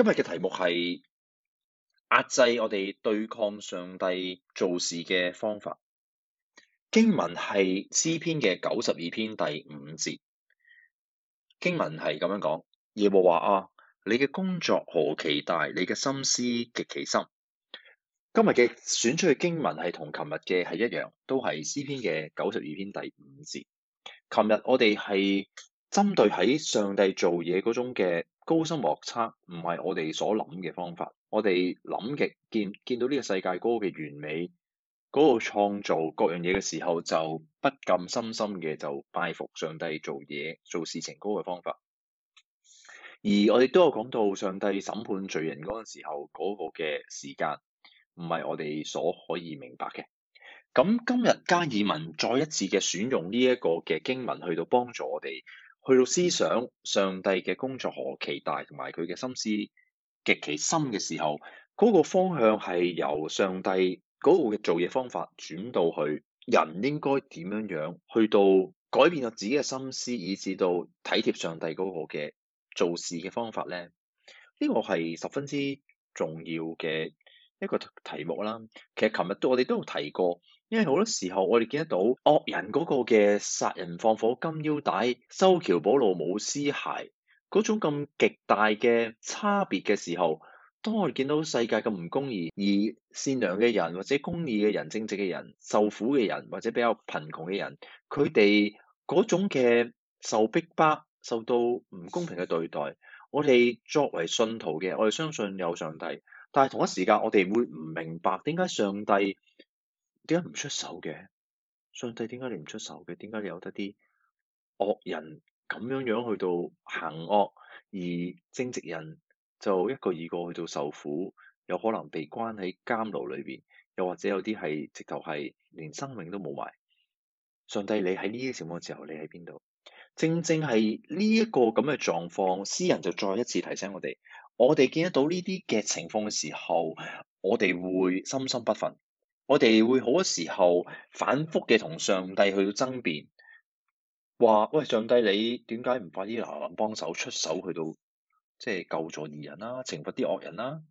今日嘅題目係壓制我哋對抗上帝做事嘅方法。經文係詩篇嘅92篇第5節。經文係咁樣講：耶和華啊，你嘅工作何其大，你嘅心思極其深。今日嘅選出嘅經文係同琴日嘅係一樣，都係詩篇嘅92篇第5節。琴日我哋係針對喺上帝做嘢嗰種嘅高深莫測，唔係我哋所諗嘅方法。我哋諗嘅見到呢個世界嗰個嘅完美，嗰個創造各樣嘢嘅時候，就不禁深深嘅就拜服上帝做嘢做事情嗰個方法。而我哋都有講到上帝審判罪人嗰陣時候嗰個嘅時間，唔係我哋所可以明白嘅。咁今日加爾文再一次嘅選用呢一個嘅經文去到幫助我哋去到思想上帝嘅工作何其大，同埋佢嘅心思極其深嘅時候，嗰個方向係由上帝嗰個嘅做嘢方法轉到去人應該點樣樣去到改變咗自己嘅心思，以至到體貼上帝嗰個嘅做事嘅方法咧。呢個係十分之重要嘅一個題目啦。其實琴日我哋都有提過，因為好多時候我哋見得到惡人嗰個嘅殺人放火金腰帶、修橋補路冇屍骸嗰種咁極大嘅差別嘅時候，當我哋見到世界咁唔公義，而善良嘅人或者公義嘅人、正直嘅人、受苦嘅人或者比較貧窮嘅人，佢哋嗰種嘅受逼迫、受到唔公平嘅對待，我哋作為信徒嘅，我哋相信有上帝，但係同一時間我哋會唔明白點解上帝點解唔出手嘅？上帝點解你唔出手嘅？點解你有得啲惡人咁樣去到行惡，而正直人就一個二個去到受苦，有可能被關喺監牢裏邊，又或者有啲係直頭係連生命都冇埋。上帝，你喺呢啲情況之後，你喺邊度？正正係呢一個咁嘅狀況，詩人就再一次提醒我哋見得到呢啲嘅情況嘅時候，我哋會心心不忿，我哋會好多時候反覆嘅同上帝去到爭辯，話喂，上帝你點解唔快啲嗱幫手出手去到即係救助義人啦，懲罰啲惡人啦？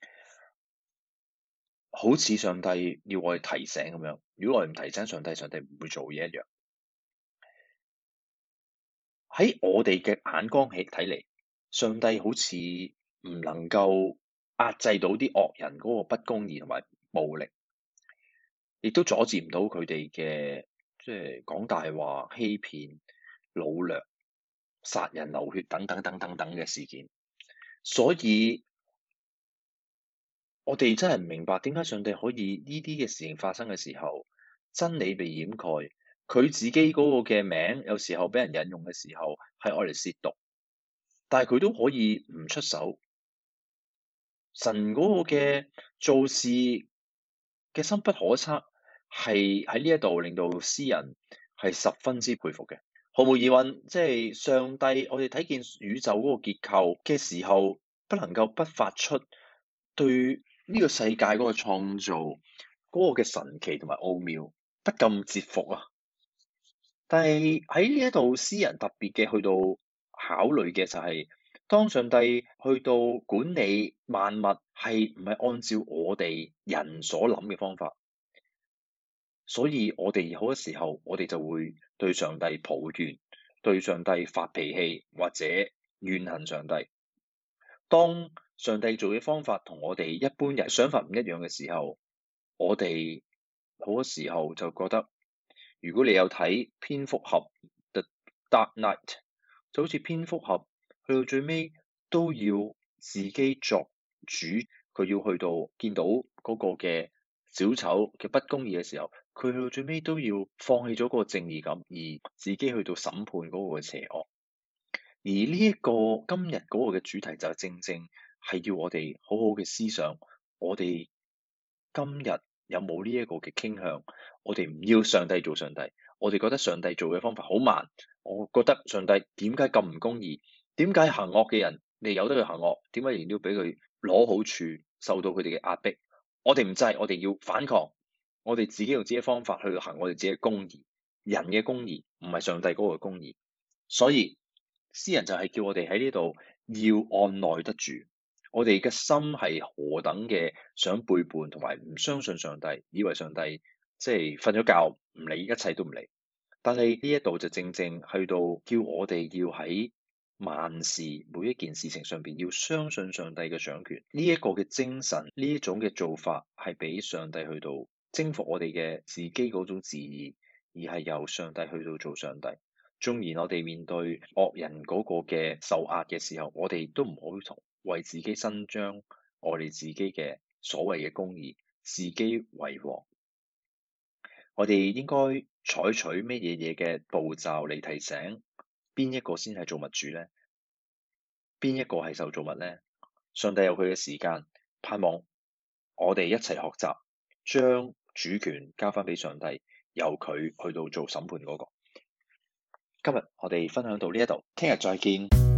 好似上帝要我哋提醒咁樣，如果我哋唔提醒上帝，上帝唔會做嘢一樣。喺我哋嘅眼光睇嚟，上帝好似唔能夠壓制到啲惡人嗰個不公義同埋暴力，亦都阻止唔到佢哋嘅即係講大話、欺騙、擄掠、殺人流血等等嘅事件。所以我哋真係唔明白點解上帝可以呢啲嘅事情發生嘅時候，真理被掩蓋。佢自己嗰個嘅名，有時候俾人引用嘅時候，係愛嚟褻瀆，但係佢都可以唔出手。神嗰個嘅做事嘅深不可測，係喺呢一度令到詩人係十分之佩服嘅。毫無疑問，即係上帝，我哋睇見宇宙嗰個結構嘅時候，不能夠不發出對呢個世界嗰個創造嗰個嘅神奇同埋奧妙，不禁折服啊！但係喺呢一度，詩人特別嘅去到考慮嘅就係，當上帝去到管理萬物，係唔係按照我哋人所諗嘅方法？所以我哋好多時候，我哋就會對上帝抱怨，對上帝發脾氣，或者怨恨上帝。當上帝做嘅方法同我哋一般人想法唔一樣嘅時候，我哋好多時候就覺得，如果你有睇蝙蝠俠 The Dark Knight，就好似蝙蝠俠去到最尾都要自己作主，佢要去到見到嗰個嘅小丑嘅不公義嘅時候，佢去到最尾都要放棄咗嗰個正義感，而自己去到審判嗰個嘅邪惡。而呢一個今日嗰個嘅主題就正正係要我哋好好嘅思想，我哋今日有冇呢一個嘅傾向？我哋唔要上帝做上帝，我哋覺得上帝做嘅方法好慢，我覺得上帝點解咁唔公義？點解行惡嘅人你由得佢行惡？點解仍然要俾佢攞好處，受到佢哋嘅壓迫？我哋唔制，我哋要反抗，我哋自己用自己嘅方法去行我哋自己嘅公義，人嘅公義唔係上帝嗰個公義，所以詩人就係叫我哋喺呢度要按捺得住， 我哋嘅心係何等嘅想背叛同埋唔相信上帝，以為上帝即係瞓咗覺唔理，一切都唔理。但係呢一度就正正去到叫我哋要喺萬事每一件事情上邊要相信上帝嘅掌權。呢一個嘅精神，呢一種嘅做法係俾上帝去到征服我哋嘅自己嗰種自義，而係由上帝去到做上帝。縱然我哋面對惡人嗰個嘅受壓嘅時候，我哋都唔好為自己伸張我哋自己嘅所謂嘅公義，自己為王。我哋應該採取乜嘢嘅步驟嚟提醒邊一個先係造物主呢？邊一個係受造物呢？上帝有佢嘅時間，盼望我哋一齊學習，將主權交翻俾上帝，由佢去到做審判嗰個。今日我哋分享到呢一度，聽日再見。